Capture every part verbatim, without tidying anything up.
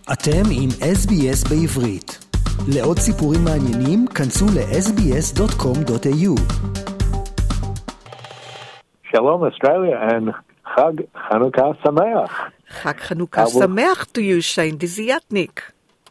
אתם עם אס בי אס בעברית. לעוד סיפורים מעניינים, כנסו ל-אס בי אס דוט קום דוט איי יו. Shalom Australia and Chag Chanukah Sameach. Chag Chanukah Sameach to you, Shane Desiatnik.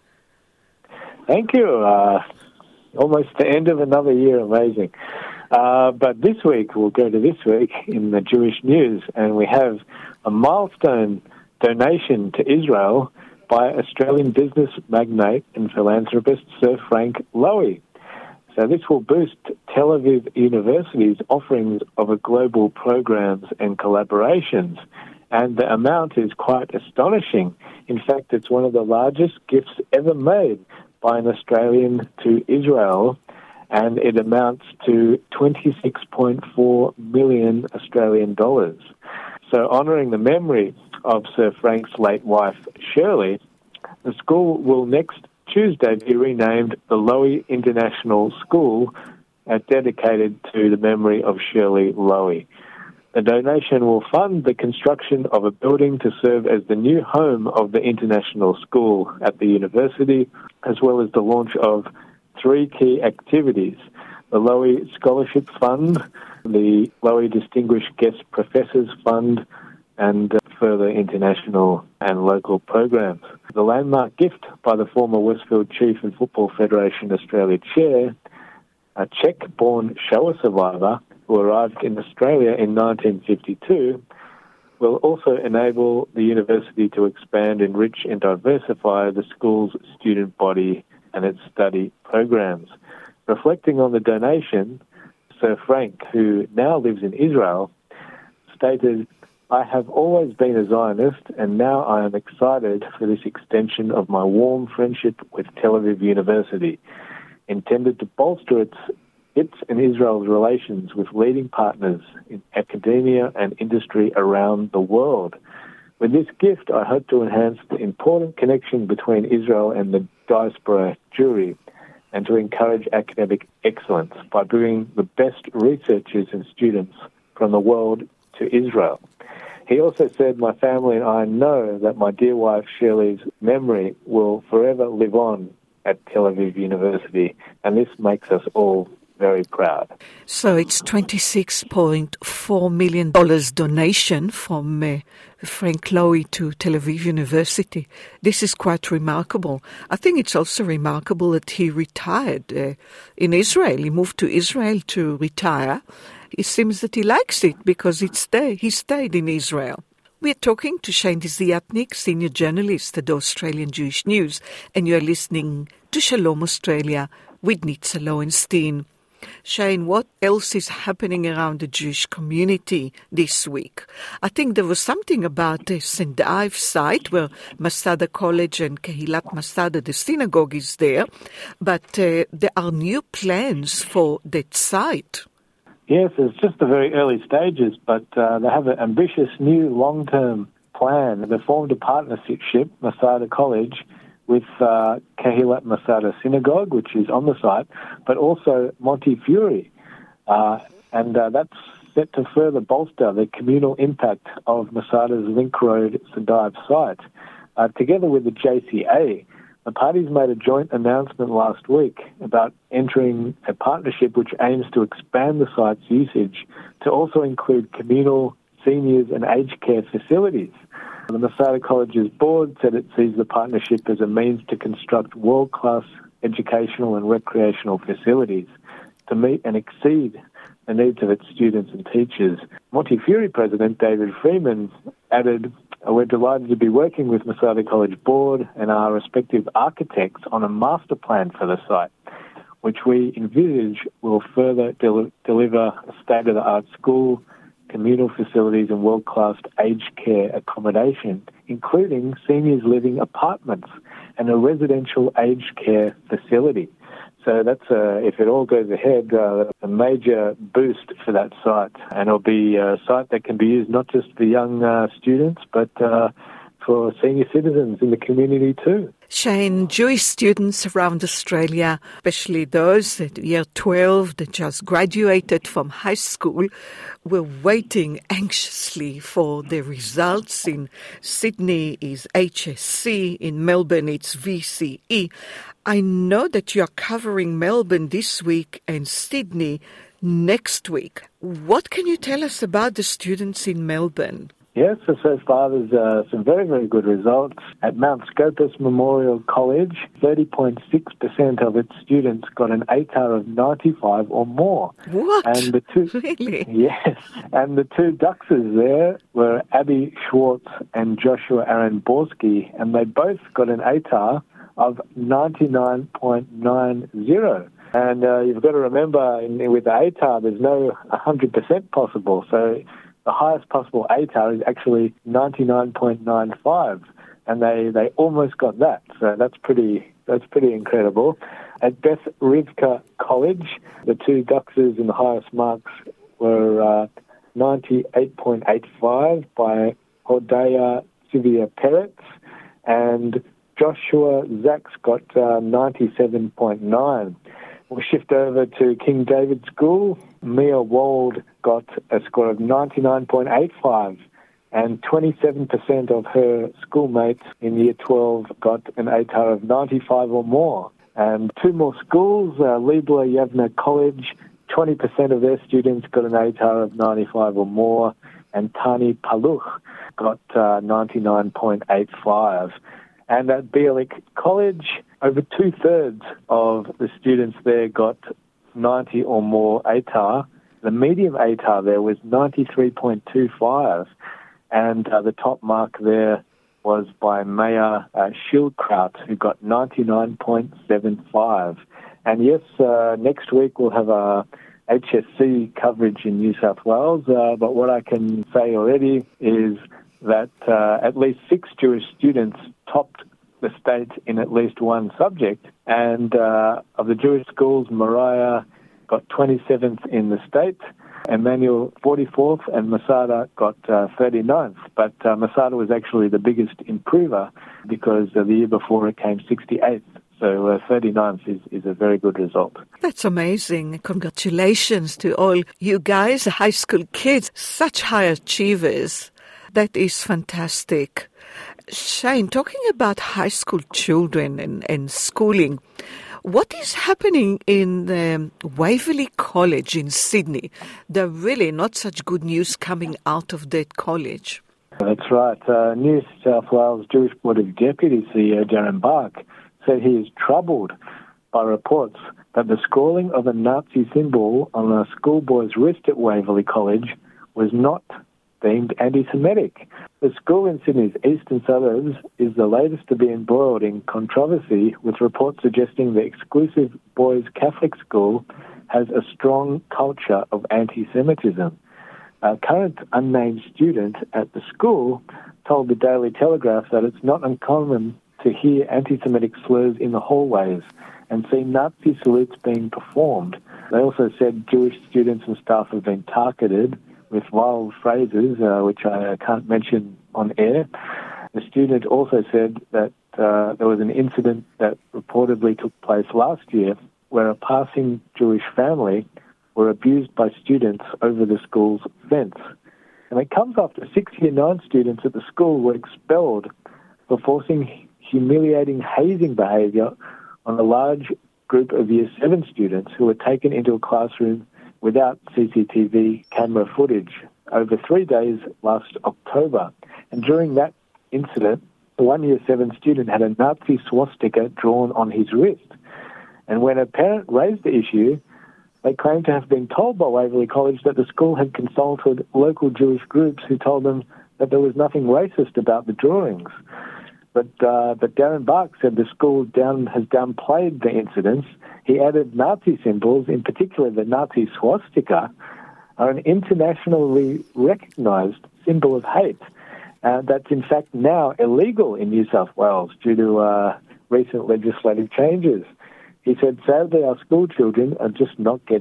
Thank you. Uh, almost the end of another year. Amazing. Uh, but this week, we'll go to this week in the Jewish news, and we have a milestone donation to Israel by Australian business magnate and philanthropist Sir Frank Lowy. So this will boost Tel Aviv University's offerings of a global programs and collaborations, and the amount is quite astonishing. In fact, it's one of the largest gifts ever made by an Australian to Israel, and it amounts to twenty-six point four million Australian dollars. So honouring the memory of Sir Frank's late wife, Shirley, the school will next Tuesday be renamed the Lowy International School, uh, dedicated to the memory of Shirley Lowy. The donation will fund the construction of a building to serve as the new home of the international school at the university, as well as the launch of three key activities: the Lowy Scholarship Fund, the Lowy Distinguished Guest Professors Fund, and uh, further international and local programs. The landmark gift by the former Westfield Chief and Football Federation Australia Chair, a Czech-born Shoah survivor who arrived in Australia in nineteen fifty-two, will also enable the university to expand, enrich and diversify the school's student body and its study programs. Reflecting on the donation, Sir Frank, who now lives in Israel, stated, "I have always been a Zionist, and now I am excited for this extension of my warm friendship with Tel Aviv University, intended to bolster its, its and Israel's relations with leading partners in academia and industry around the world. With this gift, I hope to enhance the important connection between Israel and the diaspora Jewry, and to encourage academic excellence by bringing the best researchers and students from the world to Israel." He also said, "My family and I know that my dear wife Shirley's memory will forever live on at Tel Aviv University, and this makes us all very proud." So it's twenty-six point four million dollars donation from uh, Frank Lowy to Tel Aviv University. This is quite remarkable. I think it's also remarkable that he retired uh, in Israel. He moved to Israel to retire. It seems that he likes it because it's there. He stayed in Israel. We're talking to Shane Desiatnik, senior journalist at the Australian Jewish News, and you're listening to Shalom Australia with Nitza Lowenstein. Shane, what else is happening around the Jewish community this week? I think there was something about the Saint Ives site where Masada College and Kehilat Masada, the synagogue, is there, but uh, there are new plans for that site. Yes, it's just the very early stages, but uh, they have an ambitious new long-term plan. They formed a partnership, Masada College, with uh, Kehilat Masada Synagogue, which is on the site, but also Montefiore. Uh, and uh, that's set to further bolster the communal impact of Masada's Link Road Sadive site. Uh, together with the J C A, the parties made a joint announcement last week about entering a partnership which aims to expand the site's usage to also include communal, seniors and aged care facilities. The Masada College's board said it sees the partnership as a means to construct world-class educational and recreational facilities to meet and exceed the needs of its students and teachers. Montefiore President David Freeman added, "We're delighted to be working with Masada College Board and our respective architects on a master plan for the site, which we envisage will further del- deliver a state-of-the-art school, communal facilities and world-class aged care accommodation, including seniors living apartments and a residential aged care facility." So that's, uh, if it all goes ahead, uh, a major boost for that site. And it'll be a site that can be used not just for young uh, students, but uh, for senior citizens in the community too. Shane, Jewish students around Australia, especially those at year twelve that just graduated from high school, were waiting anxiously for the results. In Sydney is H S C, in Melbourne it's V C E. I know that you are covering Melbourne this week and Sydney next week. What can you tell us about the students in Melbourne? Yes, so so far there's uh, some very, very good results. At Mount Scopus Memorial College, thirty point six percent of its students got an A T A R of ninety-five or more. What? And the two, really? Yes. And the two Duxes there were Abby Schwartz and Joshua Aaron Borski, and they both got an A T A R of ninety-nine point nine zero. And uh, you've got to remember, in, with the A T A R, there's no one hundred percent possible. So the highest possible A T A R is actually ninety-nine point nine five, and they, they almost got that. So that's pretty that's pretty incredible. At Beth Rivka College, the two Duxes in the highest marks were uh, ninety-eight point eight five by Hodaya Sylvia Peretz, and Joshua Zaks got uh, ninety-seven point nine. We'll shift over to King David School. Mia Wald got a score of ninety-nine point eight five, and twenty-seven percent of her schoolmates in Year twelve got an A T A R of ninety-five or more. And two more schools, uh, Liebler Yavna College, twenty percent of their students got an A T A R of ninety-five or more, and Tani Paluch got uh, ninety-nine point eight five. And at Bialik College, over two-thirds of the students there got ninety or more A T A R. The medium A T A R there was ninety-three point two five, and uh, the top mark there was by Maya uh, Schildkraut, who got ninety-nine point seven five. And yes, uh, next week we'll have a H S C coverage in New South Wales, uh, but what I can say already is that uh, at least six Jewish students topped the state in at least one subject, and uh, of the Jewish schools, Mariah got twenty-seventh in the state, Emmanuel forty-fourth, and Masada got uh, thirty-ninth. But uh, Masada was actually the biggest improver because uh, the year before it came sixty-eighth. So uh, thirty-ninth is, is a very good result. That's amazing. Congratulations to all you guys, high school kids, such high achievers. That is fantastic. Shane, talking about high school children and, and schooling, what is happening in um, Waverley College in Sydney? There are really not such good news coming out of that college. That's right. Uh, New South Wales Jewish Board of Deputies C E O Darren Bark said he is troubled by reports that the scrawling of a Nazi symbol on a schoolboy's wrist at Waverley College was not deemed anti-Semitic. The school in Sydney's eastern suburbs is the latest to be embroiled in controversy, with reports suggesting the exclusive boys' Catholic school has a strong culture of anti-Semitism. A current unnamed student at the school told the Daily Telegraph that it's not uncommon to hear anti-Semitic slurs in the hallways and see Nazi salutes being performed. They also said Jewish students and staff have been targeted with wild phrases, uh, which I can't mention on air. The student also said that uh, there was an incident that reportedly took place last year where a passing Jewish family were abused by students over the school's fence. And it comes after six year nine students at the school were expelled for forcing humiliating hazing behaviour on a large group of year seven students who were taken into a classroom without C C T V camera footage over three days last October. And during that incident, the one year seven student had a Nazi swastika drawn on his wrist. And when a parent raised the issue, they claimed to have been told by Waverley College that the school had consulted local Jewish groups who told them that there was nothing racist about the drawings. But, uh, but Darren Bark said the school down has downplayed the incidents. He added Nazi symbols, in particular the Nazi swastika, are an internationally recognised symbol of hate. Uh, that's in fact now illegal in New South Wales due to uh, recent legislative changes. He said, sadly, our school children are just not getting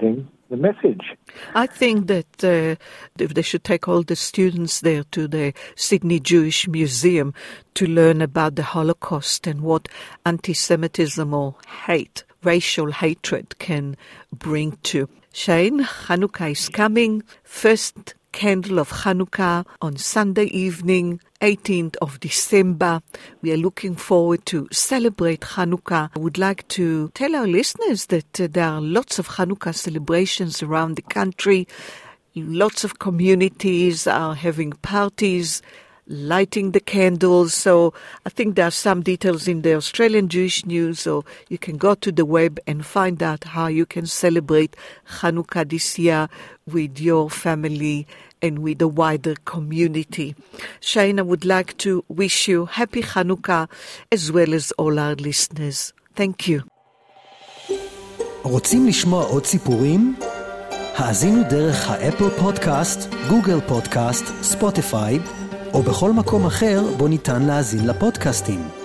the message. I think that uh, they should take all the students there to the Sydney Jewish Museum to learn about the Holocaust and what anti-Semitism or hate, racial hatred can bring to. Shane, Hanukkah is coming. First candle of Hanukkah on Sunday evening, eighteenth of December. We are looking forward to celebrate Hanukkah. I would like to tell our listeners that uh, there are lots of Hanukkah celebrations around the country. Lots of communities are having parties, lighting the candles. So I think there are some details in the Australian Jewish News, or you can go to the web and find out how you can celebrate Hanukkah this year with your family and with the wider community. Shane, I would like to wish you happy Hanukkah as well as all our listeners. Thank you. רוצים לשמוע עוד סיפורים? האזינו דרך האפל פודקאסט, גוגל פודקאסט, ספוטיפיי, או בכל מקום אחר בו ניתן להאזין לפודקאסטים.